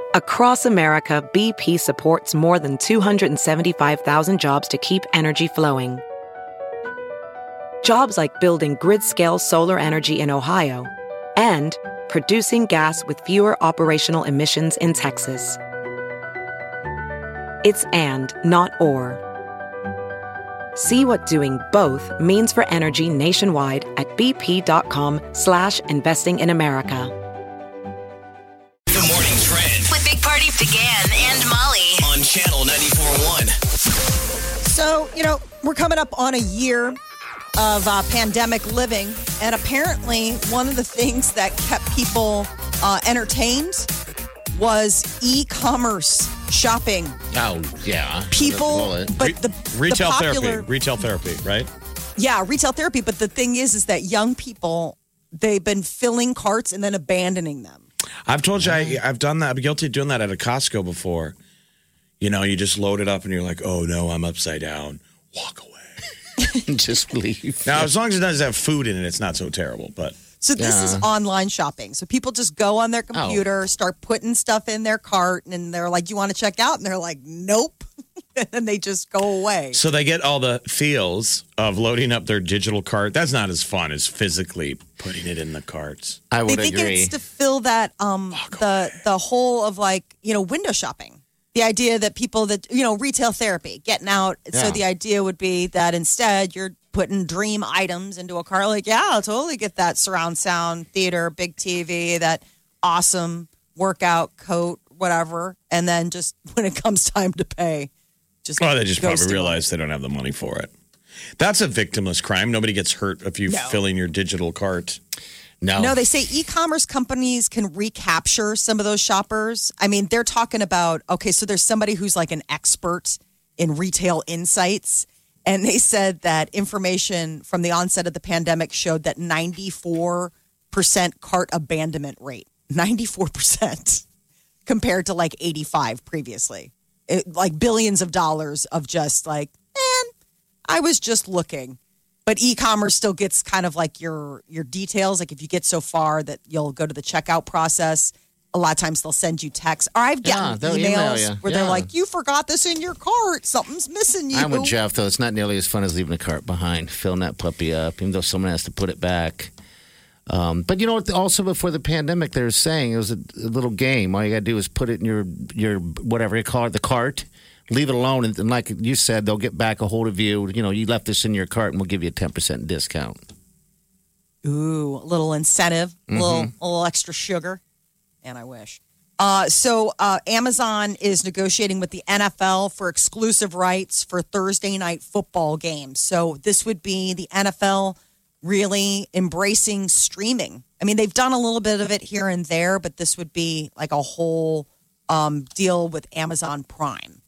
Across America, BP supports more than 275,000 jobs to keep energy flowing. Jobs like building grid-scale solar energy in Ohio and producing gas with fewer operational emissions in Texas. It's and, not or. See what doing both means for energy nationwide at bp.com/investing in America. The Morning Trend With Big Party began and Molly. on Channel 94.1. So, we're coming up on a year of pandemic living, and apparently one of the things that kept people entertained was e-commerce shopping. Oh, yeah. People, but the Retail popular, therapy, right? Yeah, retail therapy. But the thing is that young people, they've been filling carts and then abandoning them. I've told you I've done that. I'm guilty of doing that at a Costco before. You just load it up and you're like, oh no, I'm upside down. Walk away. Just leave. Now, as long as it doesn't have food in it, it's not so terrible. But So this is online shopping. So people just go on their computer, start putting stuff in their cart, and they're like, "You want to check out?" And they're like, "Nope," and they just go away. so they get all the feels of loading up their digital cart. That's not as fun as physically putting it in the carts. I They would think agree. it's to fill that the whole of window shopping. The idea that people that retail therapy, getting out. So Yeah. the idea would be that instead you're putting dream items into a car. Like, yeah, I'll totally get that surround sound theater, big TV, that awesome workout coat, whatever. And then just when it comes time to pay, just Well, they just go probably steal realize they don't have the money for it. That's a victimless crime. Nobody gets hurt if you fill in your digital cart. No, they say e-commerce companies can recapture some of those shoppers. I mean, they're talking about, okay, so there's somebody who's like an expert in retail insights. And they said that information from the onset of the pandemic showed that 94% cart abandonment rate. 94% compared to like 85 previously. Like billions of dollars of just like, I was just looking. But e-commerce still gets kind of like your details. Like if you get so far that you'll go to the checkout process, a lot of times they'll send you texts. Or I've gotten they'll email emails you. where they're like, you forgot this in your cart. Something's missing you. I'm with Jeff, though. It's not nearly as fun as leaving a cart behind, filling that puppy up, even though someone has to put it back. But also before the pandemic, they were saying it was a little game. All you got to do is put it in your whatever you call it, the cart. Leave it alone, and like you said, they'll get back a hold of you. You left this in your cart, and we'll give you a 10% discount. Ooh, a little incentive, a little extra sugar. And I wish. So Amazon is negotiating with the NFL for exclusive rights for Thursday night football games. So this would be the NFL really embracing streaming. I mean, they've done a little bit of it here and there, but this would be like a whole deal with Amazon Prime.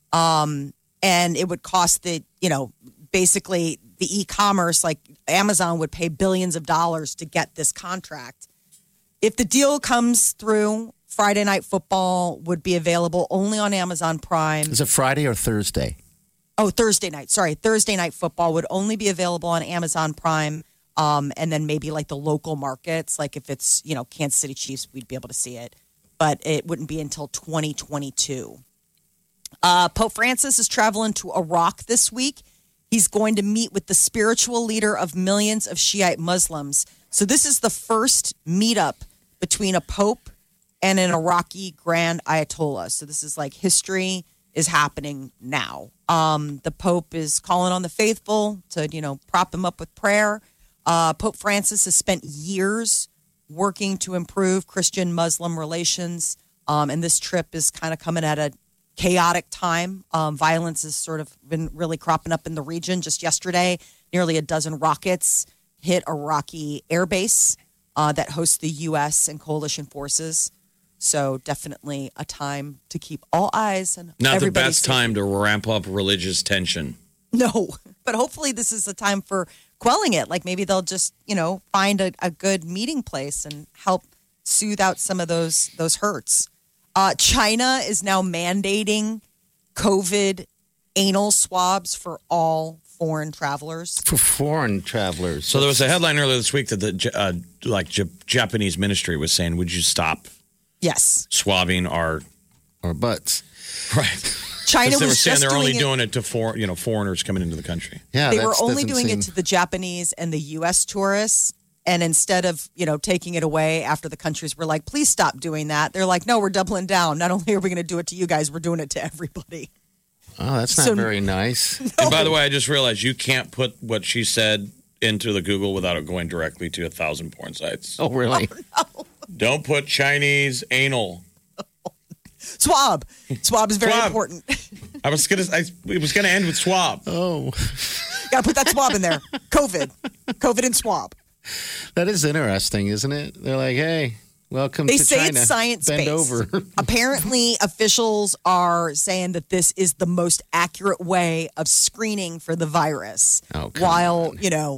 And it would cost basically the e-commerce, like Amazon would pay billions of dollars to get this contract. If the deal comes through, Friday Night Football would be available only on Amazon Prime. Is it Friday or Thursday? Oh, Thursday night. Sorry. Thursday Night Football would only be available on Amazon Prime. And then maybe like the local markets, like if it's, Kansas City Chiefs, we'd be able to see it. But it wouldn't be until 2022. Pope Francis is traveling to Iraq this week. He's going to meet with the spiritual leader of millions of Shiite Muslims. So this is the first meetup between a pope and an Iraqi grand ayatollah. So this is like history is happening now. The pope is calling on the faithful to, prop him up with prayer. Pope Francis has spent years working to improve Christian-Muslim relations. And this trip is kind of coming at a chaotic time. Violence has sort of been really cropping up in the region. Just yesterday, nearly a dozen rockets hit Iraqi airbase that hosts the U.S. and coalition forces. So definitely a time to keep all eyes on Not the everybody best safe. time to ramp up religious tension. No, but hopefully this is a time for quelling it. Like maybe they'll just, find a good meeting place and help soothe out some of those hurts. China is now mandating COVID anal swabs for all foreign travelers. For foreign travelers. So there was a headline earlier this week that the Japanese ministry was saying, would you stop Yes. swabbing our or butts. Right. China They were was saying just they're only doing it. doing it to foreigners coming into the country. Yeah, They that were only doesn't doing seem- it to the Japanese and the U.S. tourists. And instead of, taking it away after the countries were like, please stop doing that. They're like, no, we're doubling down. Not only are we going to do it to you guys, we're doing it to everybody. Oh, that's not So- very nice. And by the way, I just realized you can't put what she said into the Google without it going directly to 1,000 porn sites. Oh, really? Don't put Chinese anal. Swab. Swab is very Swab. important. It was gonna end with swab. Oh, Got to put that swab in there. COVID and swab. that is interesting, isn't it? They're like, hey, welcome They to say China. it's science-based. Bend over. Apparently, officials are saying that this is the most accurate way of screening for the virus. Oh, come while,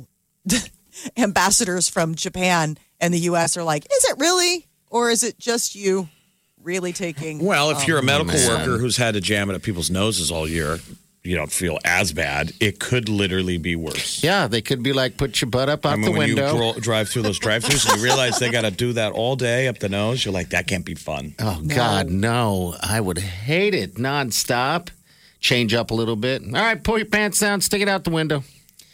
ambassadors from Japan and the U.S. are like, is it really? Or is it just you really taking... Well, if you're a medical man. worker who's had to jam it up people's noses all year, you don't feel as bad. It could literally be worse. Yeah, they could be like, put your butt up out the when window. you drive through those drive-thrus and you realize they got to do that all day up the nose, you're like, that can't be fun. Oh, God, no. I would hate it nonstop. Change up a little bit. All right, pull your pants down, stick it out the window.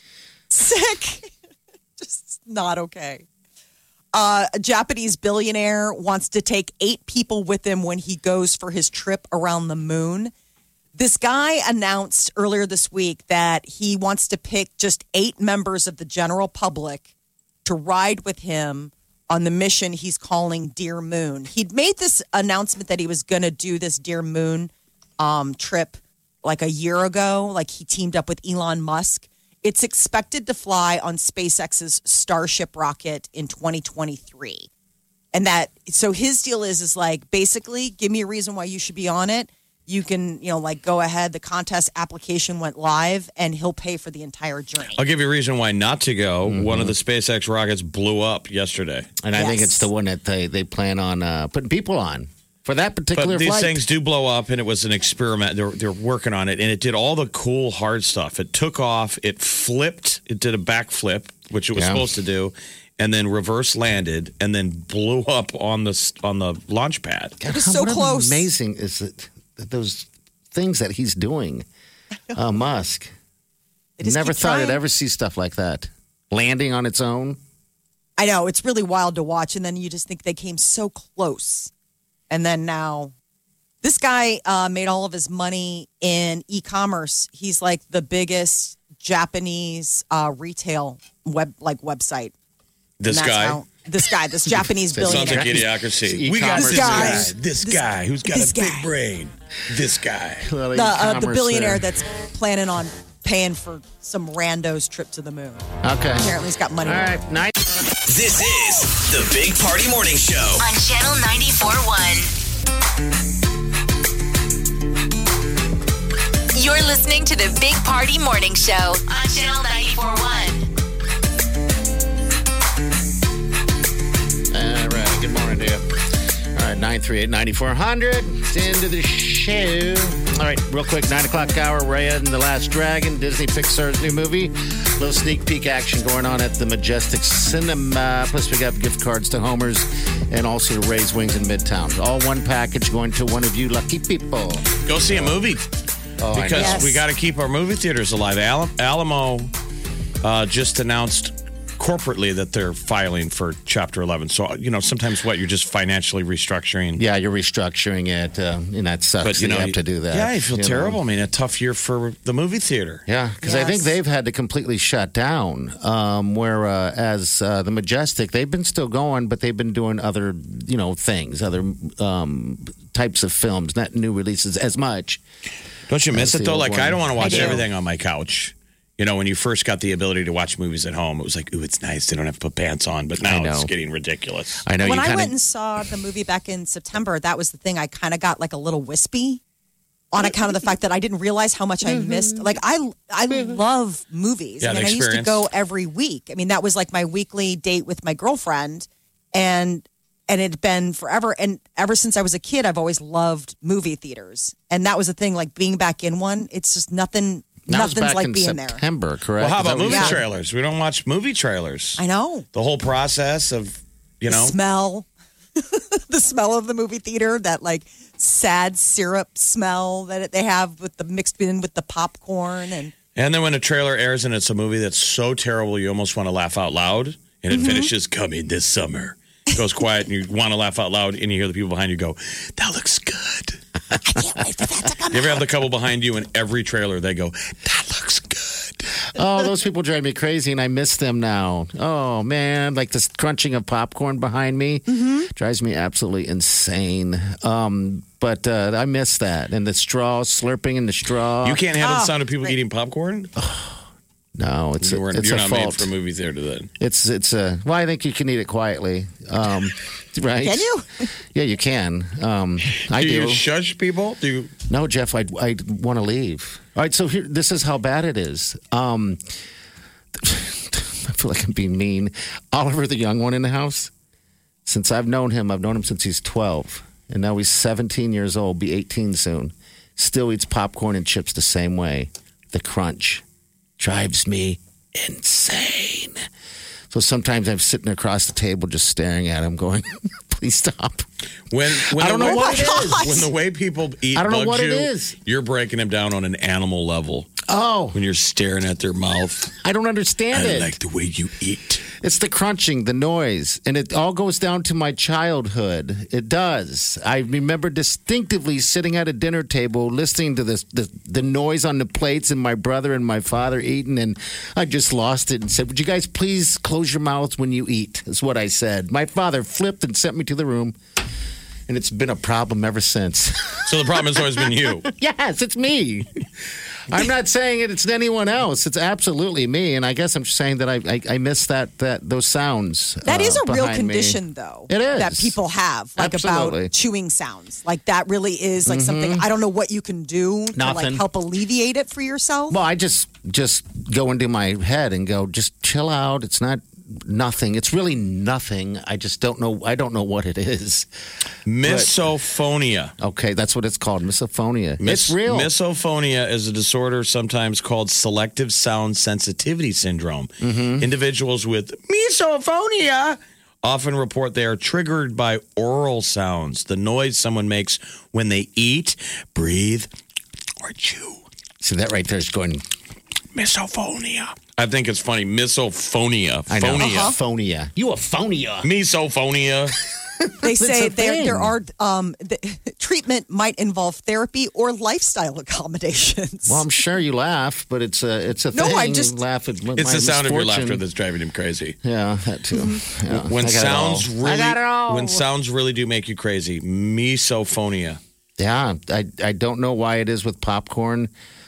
Sick. Just not okay. A Japanese billionaire wants to take 8 people with him when he goes for his trip around the moon. This guy announced earlier this week that he wants to pick just 8 members of the general public to ride with him on the mission he's calling Dear Moon. He'd made this announcement that he was going to do this Dear Moon trip like a year ago. Like he teamed up with Elon Musk. It's expected to fly on SpaceX's Starship rocket in 2023. And so his deal is like, basically, give me a reason why you should be on it. You can, go ahead. The contest application went live and he'll pay for the entire journey. I'll give you a reason why not to go. One of the SpaceX rockets blew up yesterday. And I think Yes. it's the one that they plan on putting people on for that particular But these flight. things do blow up, and it was an experiment. They're working on it, and it did all the cool, hard stuff. It took off, it flipped, it did a backflip, which it was Yeah. supposed to do, and then reverse landed, and then blew up on the launch pad. God, was so what close. Amazing is it those things that he's doing, Musk. They just Never keep thought I'd trying. ever see stuff like that. Landing on its own. I know, it's really wild to watch. And then you just think they came so close. And then now, this guy made all of his money in e-commerce. He's like the biggest Japanese retail website. This And that's guy. how- this Japanese That sounds like billionaire. idiocracy. We got this this guy. This guy who's got this a big guy. brain. This guy. The billionaire that's planning on paying for some rando's trip to the moon. Okay. Apparently, he's got money. All right. Nice. This is the Big Party Morning Show. On Channel 94.1. You're listening to the Big Party Morning Show on Channel 94.1. All right. Good morning to you. All right. 938-9400. It's the end of the show. All right. Real quick. 9 o'clock hour. Raya and the Last Dragon. Disney Pixar's new movie. Little sneak peek action going on at the Majestic Cinema. Plus, we got gift cards to Homer's and also to Ray's Wings in Midtown. All one package going to one of you lucky people. Go see a movie. Oh, I know. Because Yes. we got to keep our movie theaters alive. Alamo just announced corporately that they're filing for Chapter 11. So, sometimes you're just financially restructuring. Yeah, you're restructuring it, and that sucks. But, that you have to do that. Yeah, you feel know. terrible. I mean, a tough year for the movie theater. Yeah, because I think Yes. they've had to completely shut down. Whereas the Majestic, they've been still going, but they've been doing other, things, other types of films, not new releases as much. Don't you miss That's it, the though? old Like, one. I don't want to watch I do. everything on my couch. When you first got the ability to watch movies at home, it was like, ooh, it's nice. They don't have to put pants on. But now know. it's getting ridiculous. I know When you I kind went and of. saw the movie back in September, that was the thing. I kind of got like a little wispy on account of the fact that I didn't realize how much I missed. Like I love movies. Yeah, I mean, the I used to experience. go every week. I mean, that was like my weekly date with my girlfriend, and it'd been forever. And ever since I was a kid, I've always loved movie theaters, and that was the thing. Like being back in one, it's just nothing. That was Nothing's back like in being there. September, correct? Well, how Is that about what movie you said? trailers? We don't watch movie trailers. I know. The whole process of, The smell. the smell of the movie theater, that like sad syrup smell that they have with the mixed in with the popcorn. And then when a trailer airs and it's a movie that's so terrible you almost want to laugh out loud, and it finishes coming this summer. It goes quiet and you want to laugh out loud, and you hear the people behind you go, "That looks good." I can't wait for that to come You ever have the couple behind you in every trailer, they go, "That looks good." Oh, those people drive me crazy, and I miss them now. Oh, man. Like this crunching of popcorn behind me drives me absolutely insane. But I miss that. And the straw, slurping in the straw. You can't handle the sound of people eating popcorn? No, it's You're a not fault. made for a movie theater then. Well, I think you can eat it quietly. Right? Can you? Yeah, you can. I do. do. You shush people? Do you? No, Jeff, I want to leave. All right, so here, this is how bad it is. I feel like I'm being mean. Oliver, the young one in the house, since I've known him since he's 12. And now he's 17 years old, be 18 soon. Still eats popcorn and chips the same way. The crunch drives me insane. So sometimes I'm sitting across the table just staring at him going, please stop. When I don't know what it is. When the way people eat I don't know bugs what you, it is. You're breaking them down on an animal level. Oh, When you're staring at their mouth. I don't understand I it. like the way you eat. It's the crunching, the noise, and it all goes down to my childhood. It does. I remember distinctively sitting at a dinner table listening to the noise on the plates and my brother and my father eating, and I just lost it and said, would you guys please close your mouths when you eat? Is what I said. My father flipped and sent me to the room, and it's been a problem ever since. So the problem has always been you. Yes, it's me. I'm not saying it's anyone else. It's absolutely me, and I guess I'm just saying that I miss those sounds. That is a real behind me. condition, though. It is. That people have, like Absolutely. about chewing sounds. Like that really is like something, I don't know what you can do to like Nothing. help alleviate it for yourself. Well, I just go into my head and go, just chill out. It's not nothing. It's really nothing. I just don't know. I don't know what it is. Misophonia. Okay, that's what it's called. Misophonia. It's real. Misophonia is a disorder sometimes called selective sound sensitivity syndrome. Individuals with misophonia often report they are triggered by oral sounds, the noise someone makes when they eat, breathe, or chew. See, that right there is going, Misophonia. I think it's funny. Misophonia. I know. Phonia. Phonia. You a phonia. Misophonia. They say a thing. there are treatment might involve therapy or lifestyle accommodations. Well, I'm sure you laugh, but it's a No, thing. I just- laugh at my It's the sound of your misfortune. laughter that's driving him crazy. Yeah, that too. Yeah, When I got it all. sounds I got it all. when sounds really do make you crazy. Misophonia. Yeah, I don't know why it is with popcorn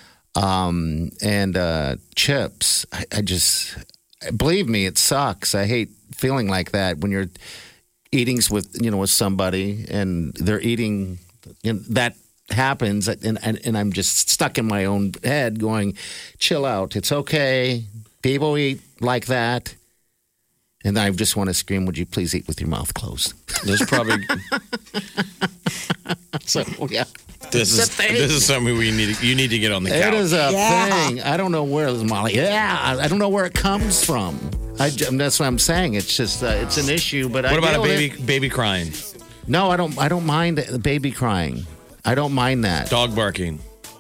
and chips. I just believe me, it sucks. I hate feeling like that when you're eating with somebody and they're eating. That happens, and I'm just stuck in my own head, going, "Chill out. It's okay. People eat like that." And I just want to scream, "Would you please eat with your mouth closed?" There's probably So yeah. this is something you need to get on the couch. It is a Yeah. thing. I don't know where Molly. Yeah, I don't know where it comes from. That's what I'm saying. It's just it's an issue. But What about deal a with baby crying? it. No, I don't. I don't mind the baby crying. I don't mind that. Dog barking.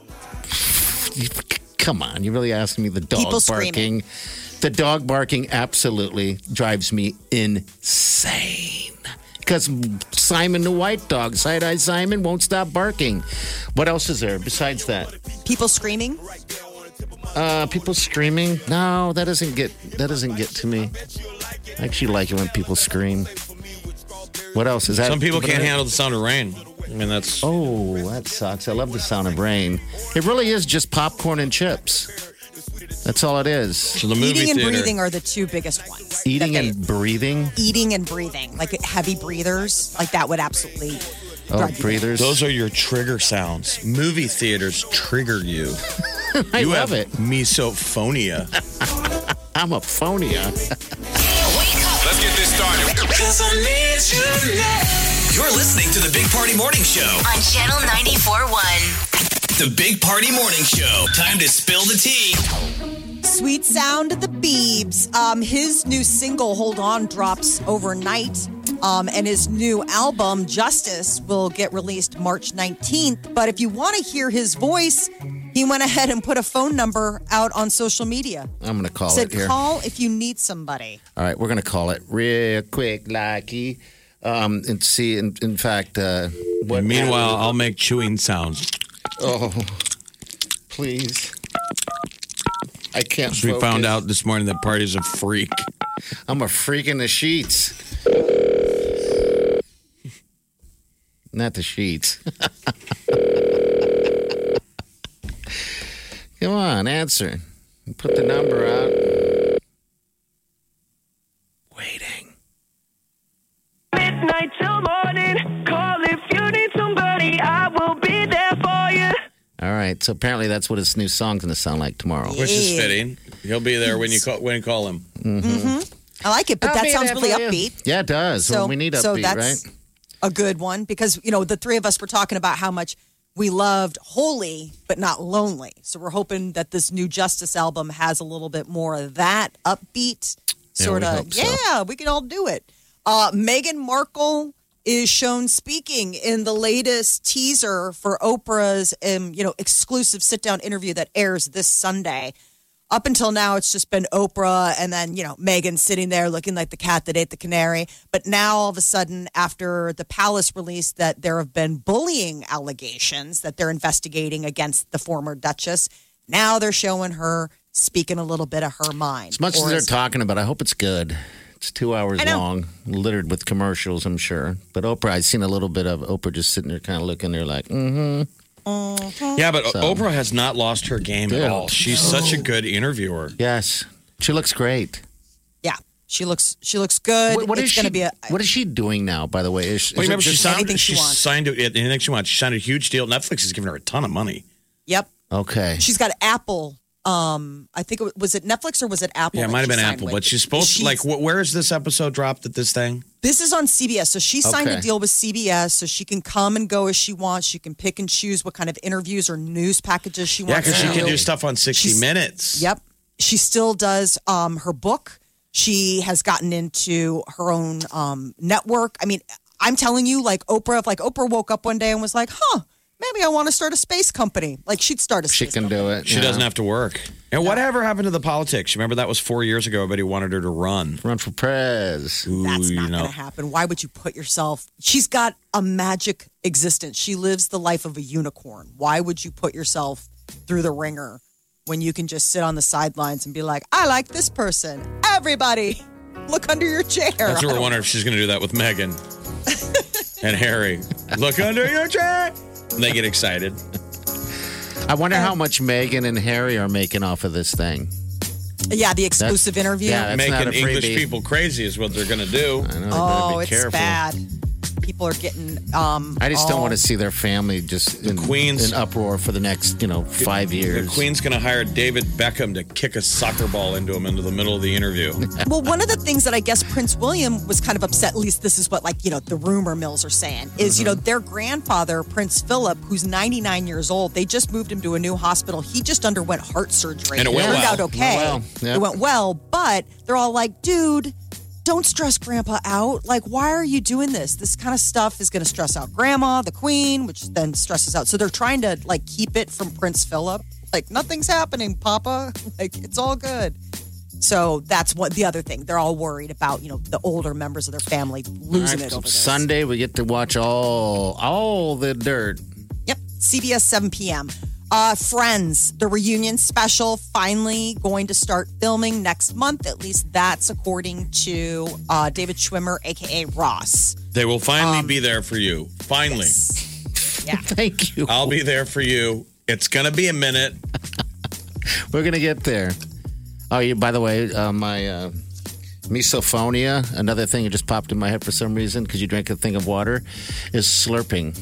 Come on, you're really asking me the dog People barking. screaming. The dog barking absolutely drives me insane. Because Simon the white dog, side-eye Simon, won't stop barking. What else is there besides that? People screaming. People screaming? No, that doesn't get to me. I actually like it when people scream. What else is that? Some people can't handle the sound of rain. I mean, that's Oh, that sucks. I love the sound of rain. It really is just popcorn and chips. That's all it is. so the movie Eating and theater. breathing are the two biggest ones. Eating that they- and breathing. eating and breathing, like heavy breathers, like that would absolutely Oh, drive you breathers. Those are your trigger sounds. Movie theaters trigger you. I You love have it. misophonia. I'm a phonia. Let's get this started. You're listening to the Big Party Morning Show. On Channel 94.1. The Big Party Morning Show. Time to spill the tea. Sweet Sound of the Biebs. His new single, Hold On, drops overnight. And his new album, Justice, will get released March 19th. But if you want to hear his voice, he went ahead and put a phone number out on social media. I'm going to call Said, it here. call if you need somebody. All right, we're going to call it real quick, Lucky. And see, in fact, what. Meanwhile, I'll make chewing sounds. Oh, please. I can't We focus. found out this morning that Party's a freak. I'm a freak in the sheets. Not the sheets. Come on, answer. Put the number out. Waiting. Midnight till morning. Call if you need somebody. I will be there for you. All right, so apparently that's what his new song's going to sound like tomorrow. Which is fitting. He'll be there when you call him. I like it, but I'll that be sounds there really for you. upbeat. Yeah, it does. So Well, we need upbeat, that's right? a good one because, the three of us were talking about how much we loved Holy, but not Lonely. So we're hoping that this new Justice album has a little bit more of that upbeat sort we of. hope so. Yeah, we can all do it. Meghan Markle is shown speaking in the latest teaser for Oprah's, exclusive sit-down interview that airs this Sunday. Up until now, it's just been Oprah and then, Meghan sitting there looking like the cat that ate the canary. But now, all of a sudden, after the Palace released that there have been bullying allegations that they're investigating against the former Duchess, now they're showing her speaking a little bit of her mind. As much as they're talking about, I hope it's good. It's 2 hours I know. long, littered with commercials, I'm sure. But Oprah, I've seen a little bit of Oprah just sitting there kind of looking there like, Yeah, but Oprah has not lost her game Dude. at all. She's such a good interviewer. yes. She looks great. Yeah, she looks good. What is it's going she? to be What is she doing now? By the way, is Well, it remember, just- anything she wants. signed to anything she wants. She signed a huge deal. Netflix has given her a ton of money. Yep. okay. She's got Apple. I think was it Netflix or was it Apple? Yeah, it that might have she been signed Apple, with? but she's supposed to, where is this episode dropped at this thing? This is on CBS. So she signed Okay. a deal with CBS so she can come and go as she wants. She can pick and choose what kind of interviews or news packages she Yeah, wants because to she can do stuff on 60 She's- Minutes. Yep. She still does her book. She has gotten into her own network. I mean, I'm telling you, like Oprah, if like Oprah woke up one day and was like, maybe I want to start a space company. Like she'd start a She space can company. do it. She yeah. doesn't have to work. And whatever happened to the politics? Remember that was 4 years ago. Everybody wanted her to run. run for prez. Ooh, That's you not know. going to happen. Why would you put yourself? She's got a magic existence. She lives the life of a unicorn. Why would you put yourself through the ringer when you can just sit on the sidelines and be like, I like this person. Everybody, look under your chair. That's what we're wondering if she's going to do that with Meghan and Harry. Look under your chair. And they get excited. I wonder how much Meghan and Harry are making off of this thing. Yeah, the exclusive interview. yeah, That's not Making a English freebie. people crazy is what they're going to do. I know, they Oh, better be it's careful. bad. People are getting. I just don't want to see their family just in, Queen's- in uproar for the next, 5 years. The Queen's going to hire David Beckham to kick a soccer ball into him into the middle of the interview. Well, one of the things that I guess Prince William was kind of upset, at least this is what the rumor mills are saying, is, their grandfather, Prince Philip, who's 99 years old, they just moved him to a new hospital. He just underwent heart surgery. And it went turned well. out okay. Went well. Yeah. It went well, but they're all like, dude, don't stress grandpa out. Like, why are you doing this? This kind of stuff is going to stress out grandma, the queen, which then stresses out. So they're trying to keep it from Prince Philip. Like, nothing's happening, Papa. Like, it's all good. So that's what the other thing. They're all worried about, the older members of their family losing All right, it over this. Sunday, we get to watch all the dirt. Yep. CBS 7 p.m. Friends, the reunion special, finally going to start filming next month. At least that's according to David Schwimmer, a.k.a. Ross. They will finally be there for you. Finally. Yeah. Thank you. I'll be there for you. It's going to be a minute. We're going to get there. Oh, by the way, my misophonia, another thing that just popped in my head for some reason because you drank a thing of water, is slurping.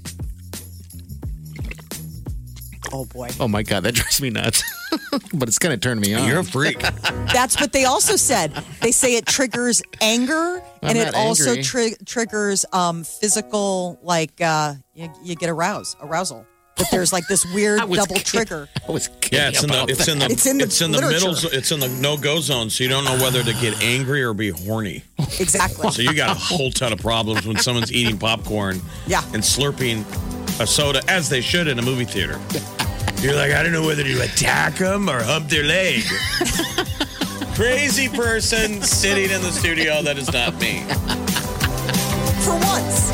Oh, boy. Oh, my God, that drives me nuts. But it's going to turn me on. You're a freak. That's what they also said. They say it triggers anger, and it not also angry. triggers physical, you get arousal. That there's like this weird I was double kidding. trigger. I was kidding. Yeah, it's in the literature. middle. It's in the no-go zone, so you don't know whether to get angry or be horny. Exactly. So you got a whole ton of problems when someone's eating popcorn, Yeah. and slurping a soda as they should in a movie theater. You're like, I don't know whether to attack them or hump their leg. Crazy person sitting in the studio. That is not me. For once.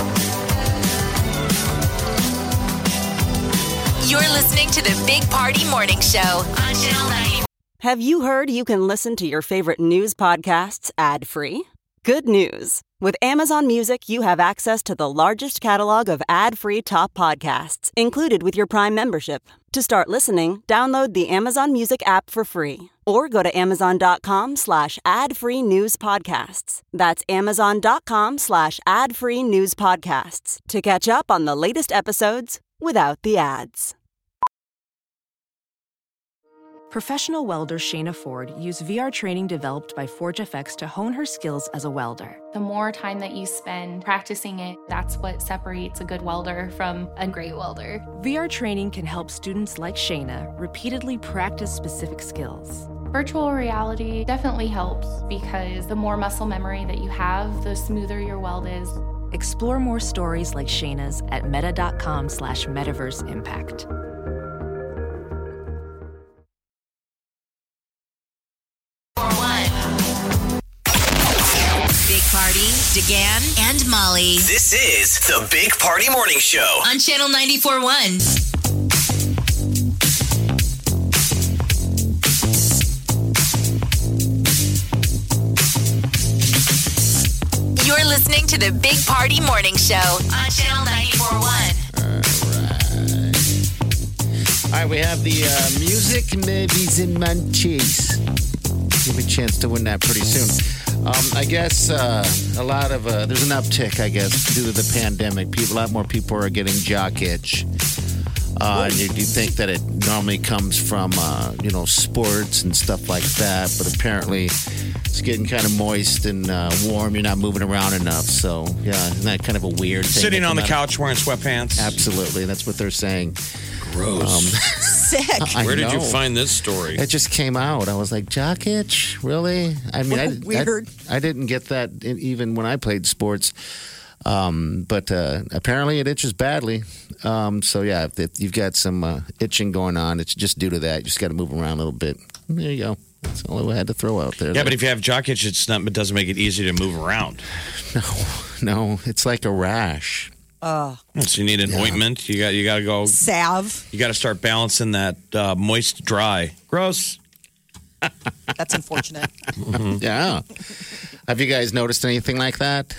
You're listening to the Big Party Morning Show on Channel 94. Have you heard you can listen to your favorite news podcasts ad-free? Good news. With Amazon Music, you have access to the largest catalog of ad-free top podcasts included with your Prime membership. To start listening, download the Amazon Music app for free or go to amazon.com/ad-free news podcasts. That's amazon.com/ad-free news podcasts to catch up on the latest episodes without the ads. Professional welder Shayna Ford used VR training developed by ForgeFX to hone her skills as a welder. The more time that you spend practicing it, that's what separates a good welder from a great welder. VR training can help students like Shayna repeatedly practice specific skills. Virtual reality definitely helps because the more muscle memory that you have, the smoother your weld is. Explore more stories like Shayna's at meta.com/metaverseimpact. Big Party, DeGan, and Molly This is the Big Party Morning Show. on Channel 94.1. You're listening to the Big Party Morning Show on Channel 94.1. All right, we have the music, movies, and munchies. Give me a chance to win that pretty soon. I guess a lot of there's an uptick, I guess, due to the pandemic. A lot more people are getting jock itch. And you think that it normally comes from sports and stuff like that, but apparently it's getting kind of moist and warm. You're not moving around enough, so yeah, isn't that kind of a weird thing? Sitting on the couch wearing sweatpants. Absolutely, that's what they're saying. Gross. Sick. Where did you find this story? It just came out. I was like, jock itch? Really? I mean, Weird. I didn't get that even when I played sports. But apparently it itches badly. So, yeah, if you've got some itching going on, it's just due to that. You just got to move around a little bit. There you go. That's all I had to throw out there. Yeah, but if you have jock itch, it doesn't make it easy to move around. No, it's like a rash. So you need an ointment. You got to go. Salve. You got to start balancing that moist dry. Gross. That's unfortunate. Yeah. Have you guys noticed anything like that?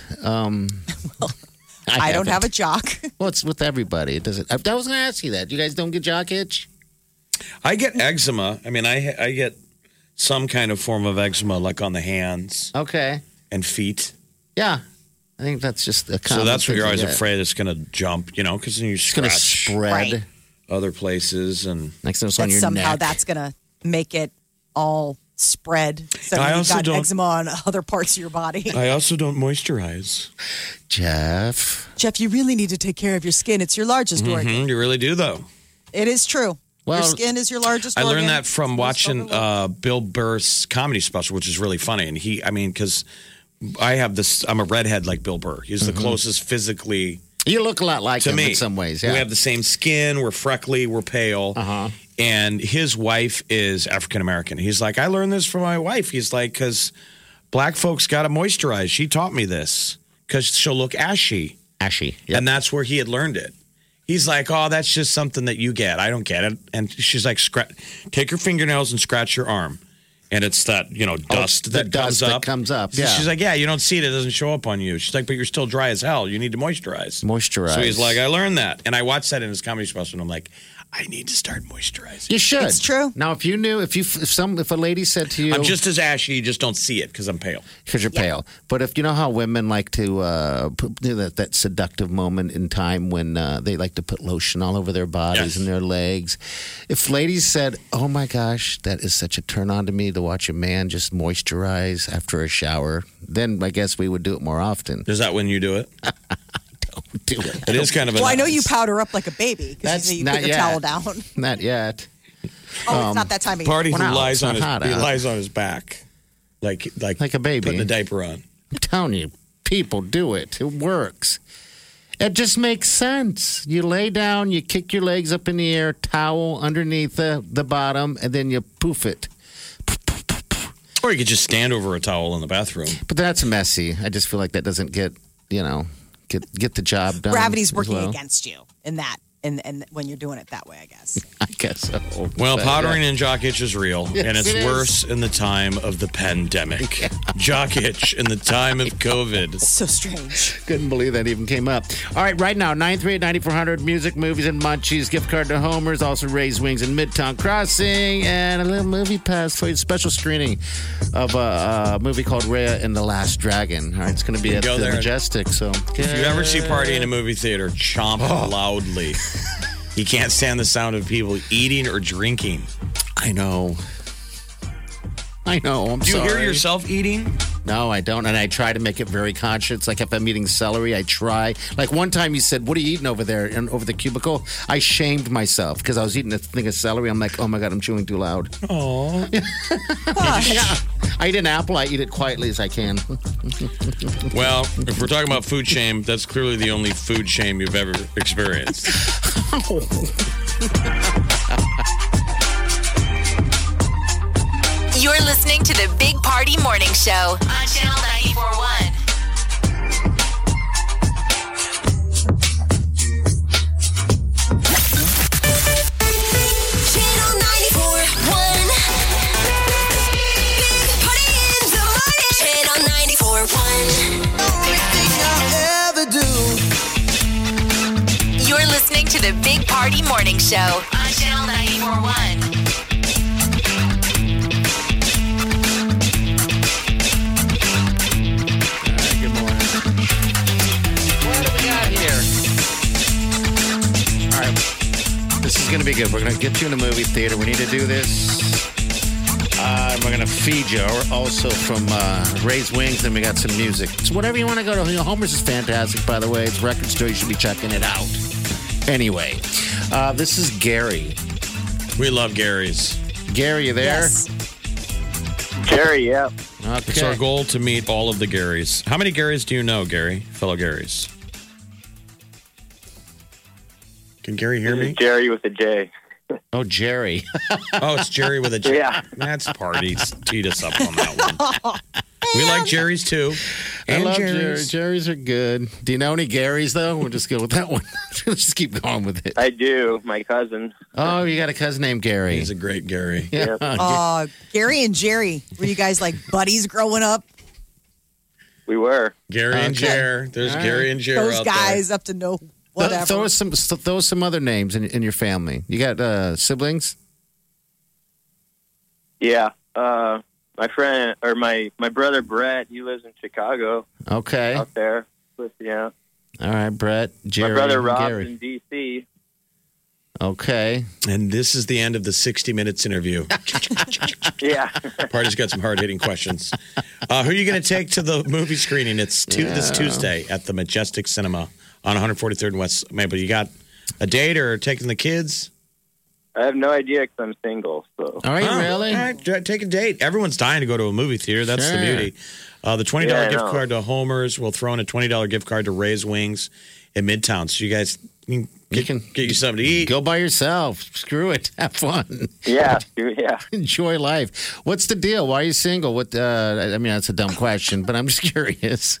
I don't have a jock. Well, it's with everybody. It doesn't. I was going to ask you that. You guys don't get jock itch? I get eczema. I mean, I get some kind of form of eczema, like on the hands Okay. and feet. Yeah. I think that's just a common So that's what thing you're to always get. afraid it's going to jump, because then you It's going to scratch spread. Right. other places. And Next thing it's on That your somehow neck. that's going to make it all spread. So I you've also got don't- eczema on other parts of your body. I also don't moisturize. Jeff. Jeff, you really need to take care of your skin. It's your largest organ. You really do, though. It is true. Well, your skin is your largest I organ. learned that from It's watching overlooked. Bill Burr's comedy special, which is really funny. And because I'm a redhead like Bill Burr. He's the closest physically You look a lot like to him me in some ways. Yeah. We have the same skin. We're freckly. We're pale. And his wife is African American. He's like, I learned this from my wife. He's like, because black folks got to moisturize. She taught me this because she'll look ashy. Ashy. Yep. And that's where he had learned it. He's like, oh, that's just something that you get. I don't get it. And she's like, take your fingernails and scratch your arm. And it's that, dust the that dust comes up. that comes up, yeah. She's like, yeah, you don't see it. It doesn't show up on you. She's like, but you're still dry as hell. You need to moisturize. Moisturize. So he's like, I learned that. And I watched that in his comedy special. And I'm like, I need to start moisturizing. You should. It's true. Now, if you knew, if a lady said to you, I'm just as ashy. You just don't see it because I'm pale. because you're pale. But if you know how women like to do that seductive moment in time when they like to put lotion all over their bodies Yes. and their legs. If ladies said, "Oh my gosh, that is such a turn on to me to watch a man just moisturize after a shower," then I guess we would do it more often. Is that when you do it? Don't do it. It is kind of a Well, I know you powder up like a baby because That's you not put your yet. towel down. Not yet. Oh, it's not that time of year. Party who Well, no, lies it's on not hot he out. lies on his back. Like a baby. Putting a diaper on. I'm telling you, people do it. It works. It just makes sense. You lay down, you kick your legs up in the air, towel underneath the bottom, and then you poof it. Or you could just stand over a towel in the bathroom. But that's messy. I just feel like that doesn't get the job done. Gravity's as working well. against you in that, and when you're doing it that way, I guess. I guess so. Well, But, powdering and jock itch is real, Yes, and it's it is. worse in the time of the pandemic. Jock itch in the time of COVID. So strange. Couldn't believe that even came up. All right, right now, 938-9400, music, movies, and munchies. Gift card to Homer's, also Raised Wings in Midtown Crossing, and a little movie pass for you. Special screening of a movie called Raya and the Last Dragon. All right, it's going to be at Go the there. Majestic. So If you ever see Party in a movie theater, chomp loudly. He can't stand the sound of people eating or drinking. I know. I'm Do you sorry. hear yourself eating? No, I don't. And I try to make it very conscious. Like if I'm eating celery, I try. Like one time you said, "What are you eating over there?" And over the cubicle, I shamed myself because I was eating a thing of celery. I'm like, "Oh my God, I'm chewing too loud." Oh. Yeah. I eat an apple. I eat it quietly as I can. Well, if we're talking about food shame, that's clearly the only food shame you've ever experienced. You're listening to the Big Party Morning Show on Channel 94.1. Channel 94.1. Big Party in the morning. Channel 94.1. Everything I ever do. You're listening to the Big Party Morning Show on Channel 94.1. Good morning. What do we got here? All right. This is going to be good. We're going to get you in a movie theater. We need to do this. We're going to feed you. Also from Raised Wings, and we got some music. So whatever you want to go to. You know, Homer's is fantastic, by the way. It's a record store. You should be checking it out. Anyway, this is Gary. We love Gary's. Gary, you there? Yes. Jerry, yeah. Okay. It's our goal to meet all of the Garys. How many Garys do you know, Gary? Fellow Garys. Can Gary hear me? Jerry with a J. Oh, Jerry. Oh, it's Jerry with a J. Yeah. That's parties. Teed us up on that one. We like Jerry's too. I And love Jerry's. Jerry's are good. Do you know any Garys, though? We'll just go with that one. Let's just keep going with it. I do. My cousin. Oh, you got a cousin named Gary. He's a great Gary. Yeah. Gary and Jerry, were you guys like buddies growing up? We were. Gary and Okay. Jer. There's All Gary right. and Jer Those out guys up to no whatever. Throw us some other names in your family. You got siblings? Yeah. My friend, or my brother Brett, he lives in Chicago. Okay. Out there. Yeah. All right, Brett, Jerry, My brother and Rob's Gary. in D.C. Okay. there. And this is the end of the 60 Minutes interview. Yeah. Party's got some hard-hitting questions. Who are you going to take to the movie screening? It's this Tuesday at the Majestic Cinema on 143rd and West Maple. You got a date or taking the kids? I have no idea because I'm single. So. Are you really? All right, take a date. Everyone's dying to go to a movie theater. That's the Sure. beauty. The $20 Yeah, I gift know. card to Homer's. We'll throw in a $20 gift card to Raised Wings in Midtown. So you guys can get you something to eat. Go by yourself. Screw it. Have fun. Yeah. Yeah. Enjoy life. What's the deal? Why are you single? What? I mean, that's a dumb question, but I'm just curious.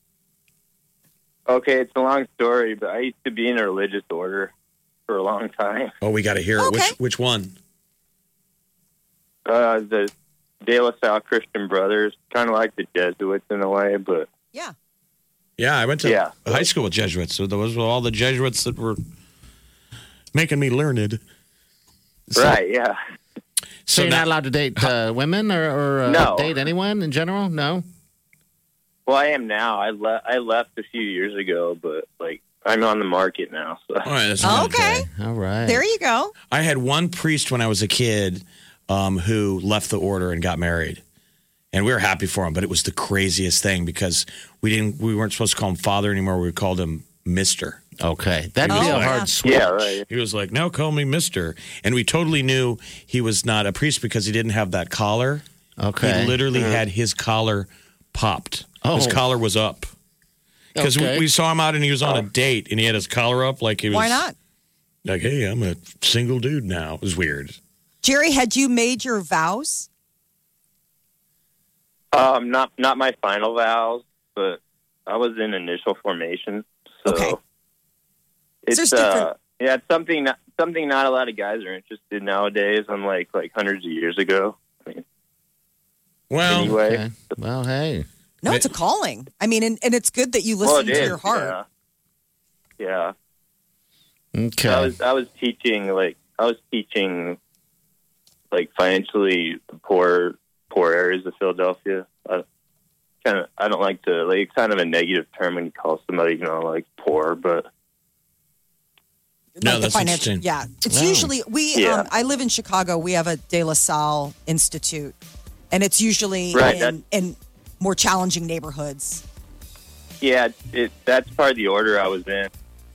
Okay, it's a long story, but I used to be in a religious order for a long time. Oh, we got to hear it. Okay. Which one? The De La Salle Christian Brothers, kind of like the Jesuits in a way, but yeah. Yeah, I went to Yeah. high school with Jesuits. So those were all the Jesuits that were making me learned. right, yeah. So you're now- not allowed to date women or No. date anyone in general? No? Well, I am now. I left a few years ago, but like I'm on the market now. So. All right, that's Okay. All right. There you go. I had one priest when I was a kid who left the order and got married. And we were happy for him, but it was the craziest thing because we weren't supposed to call him father anymore. We called him Mr. Okay. That'd be a hard switch. Yeah, right. He was like, "No, call me Mr." And we totally knew he was not a priest because he didn't have that collar. Okay. He literally had his collar popped. His Oh. collar was up. Because Okay. we saw him out and he was on a date and he had his collar up like he was. Why not? Like, hey, I'm a single dude now. It was weird. Jerry, had you made your vows? Not my final vows, but I was in initial formation. So Okay. it's there's different- it's something not a lot of guys are interested nowadays, unlike like hundreds of years ago. I mean, Well, anyway. Okay. Well, hey. No, it's a calling. I mean, and it's good that you listen it to is, your heart. Yeah. Okay. I was teaching like financially poor areas of Philadelphia. I don't like to like, it's kind of a negative term when you call somebody, like poor, but No, Like the that's financial, interesting. yeah. It's Wow. usually I live in Chicago. We have a De La Salle Institute, and it's usually Right, in more challenging neighborhoods. yeah, that's part of the order I was in.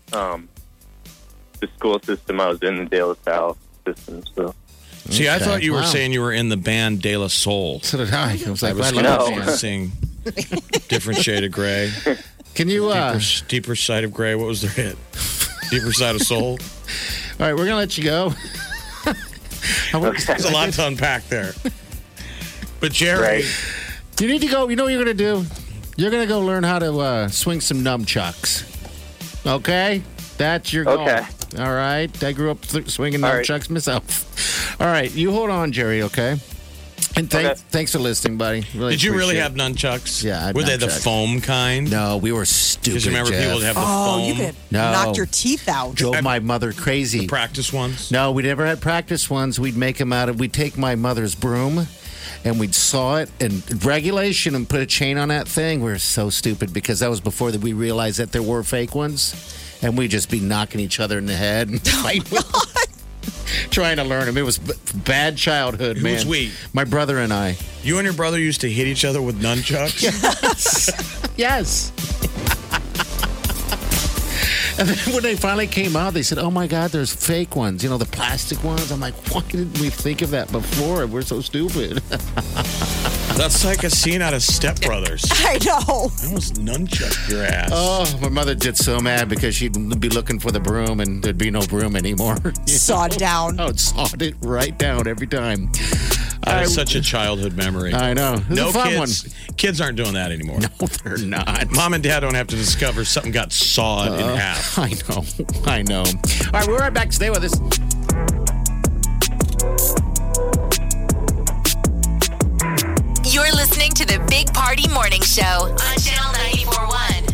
The school system I was in, the De La Salle system. So See, I Okay. thought you were Wow. saying you were in the band De La Soul. So did I. I was like, I was I going love No. that to band. sing Different Shade of Gray. Can you, Deeper Side of Gray. What was their hit? Deeper Side of Soul. all right, we're going to let you go. There's a lot to unpack there. But Jerry, Right. You need to go. You know what you're going to do? You're going to go learn how to swing some nunchucks. Okay? That's your goal. Okay. All right? I grew up swinging All right. nunchucks myself. All right. You hold on, Jerry, okay? And thanks for listening, buddy. did you really appreciate have nunchucks? Yeah, I had Were they the nunchucks. foam kind? it. No, we were stupid. Because remember, Jeff. people would have the Oh, foam. you could No. knock your teeth out. Drove my mother crazy. practice ones. No, we never had practice ones. We'd make them out of. We'd take my mother's broom, and we'd saw it and regulation and put a chain on that thing. We were so stupid because that was before that we realized that there were fake ones, and we'd just be knocking each other in the head and fighting. Trying to learn them. It was bad childhood, man. Who's we? My brother and I. You and your brother used to hit each other with nunchucks? Yes. And then when they finally came out, they said, "Oh my God, there's fake ones. You know, the plastic ones." I'm like, "Why didn't we think of that before? We're so stupid." That's like a scene out of Step Brothers. I know. I almost nunchucked your ass. Oh, my mother gets so mad because she'd be looking for the broom and there'd be no broom anymore. Sawed down. Oh, it sawed it right down every time. That is such a childhood memory. I know. It was No a fun kids. Kids aren't doing that anymore. No, they're not. Mom and Dad don't have to discover something got sawed in half. I know. I know. All right, we're right back. Stay with us. You're listening to the Big Party Morning Show on Channel 94.1.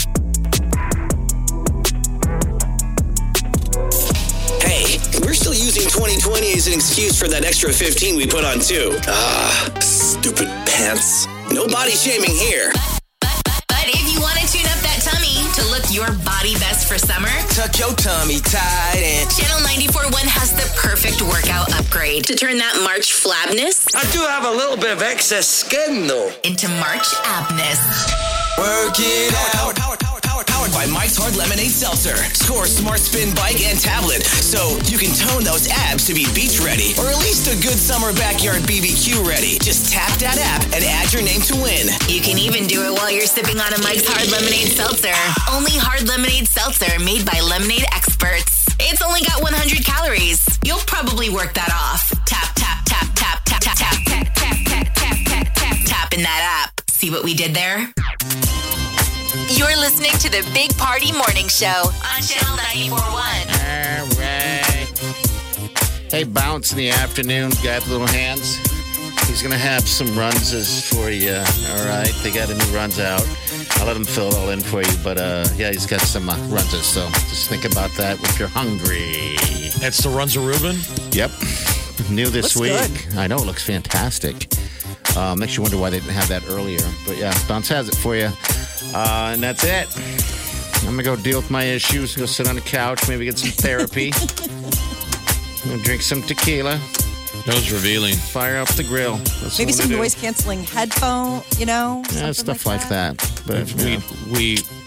Hey, we're still using 2020 as an excuse for that extra 15 we put on too. Stupid pants. No body shaming here. But if you want to tune up that tummy to look your body best for summer, Tuck your tummy tight and Channel 94.1 has the perfect workout upgrade to turn that March flabness I do have a little bit of excess skin though. into March abness. Work it out. Powered by Mike's Hard Lemonade Seltzer. Score Smart Spin Bike and tablet so you can tone those abs to be beach ready or at least a good summer backyard BBQ ready. Just tap that app and add your name to win. You can even do it while you're sipping on a Mike's Hard Lemonade Seltzer. Only hard lemonade seltzer made by lemonade experts. It's only got 100 calories. You'll probably work that off. Tap, tap, tap, tap, tap, tap, tap, tap, tap, tap, tap, tap, tap, tap in that app. See what we did there? You're listening to the Big Party Morning Show on Channel 94.1. All right. Hey, Bounce in the afternoon. Guy with little hands. He's going to have some runses for you. All right. They got a new runs out. I'll let him fill it all in for you. But, yeah, he's got some runses. So just think about that if you're hungry. That's the Runza Reuben? Yep. New this Looks week. good. I know. It looks fantastic. Makes you wonder why they didn't have that earlier. But, yeah, Bounce has it for you. And that's it. I'm going to go deal with my issues. Go sit on the couch. Maybe get some therapy. I'm going to drink some tequila. That was revealing. Fire up the grill. That's Maybe what some I do. Yeah, noise canceling headphone, stuff like that. But We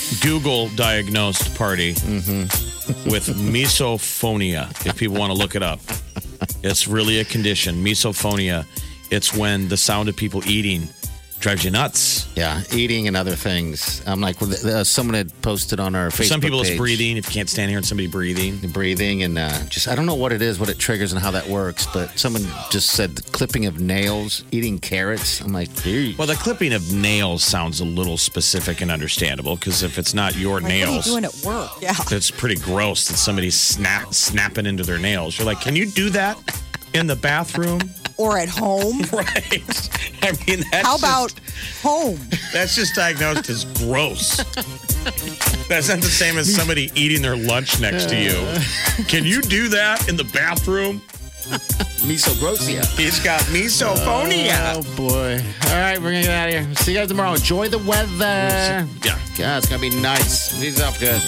Google diagnosed party with misophonia, if people want to look it up. It's really a condition, misophonia. It's when the sound of people eating drives you nuts. Yeah, eating and other things. I'm like, someone had posted on our Facebook For some people, page. it's breathing. If you can't stand hearing somebody breathing. Breathing and just, I don't know what it is, what it triggers and how that works, but someone just said the clipping of nails, eating carrots. I'm like, dude. Well, the clipping of nails sounds a little specific and understandable because if it's not your nails. What are you doing at work? Yeah. It's pretty gross that somebody's snapping into their nails. You're like, can you do that in the bathroom? Or at home. Right. I mean, that's how about home? That's just diagnosed as gross. That's not the same as somebody eating their lunch next to you. Can you do that in the bathroom? Misogrosia. He's got misophonia. Oh, boy. All right, we're going to get out of here. See you guys tomorrow. Enjoy the weather. Yeah. Yeah, it's going to be nice. These up good.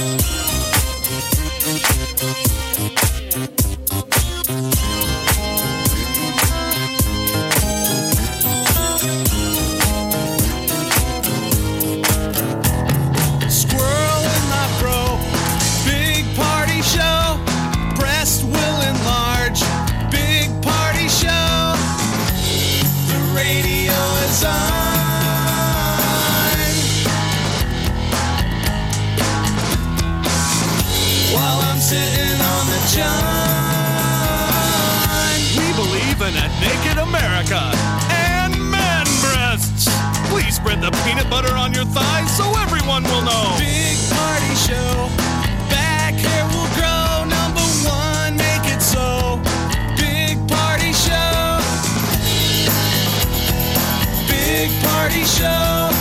We believe in a naked America and man breasts. Please spread the peanut butter on your thighs so everyone will know. Big party show. Back hair will grow. Number one, make it so. Big party show. Big party show.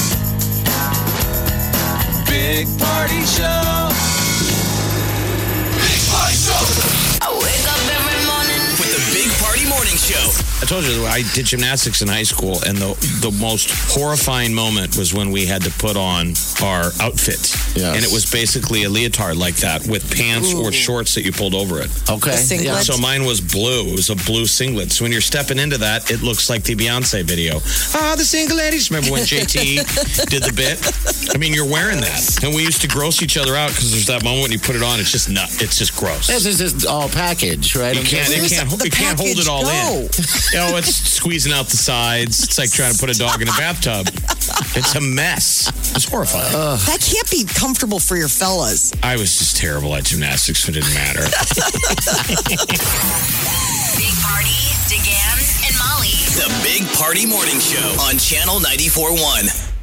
Big party show. I wake up every morning with the Big Party Morning Show. I told you I did gymnastics in high school, and the most horrifying moment was when we had to put on our outfit. Yes. And it was basically a leotard like that with pants or shorts that you pulled over it. Okay. Yeah. So mine was blue. It was a blue singlet. So when you're stepping into that, it looks like the Beyonce video. The single ladies. Remember when JT did the bit? I mean, you're wearing that. And we used to gross each other out because there's that moment when you put it on, it's just it's just gross. This is just all package, right? You can't hold it all in. You know, it's squeezing out the sides. It's like trying to put a dog in a bathtub. It's a mess. It's horrifying. That can't be comfortable for your fellas. I was just terrible at gymnastics, so it didn't matter. Big Party, DeGan, and Molly. The Big Party Morning Show on Channel 94.1.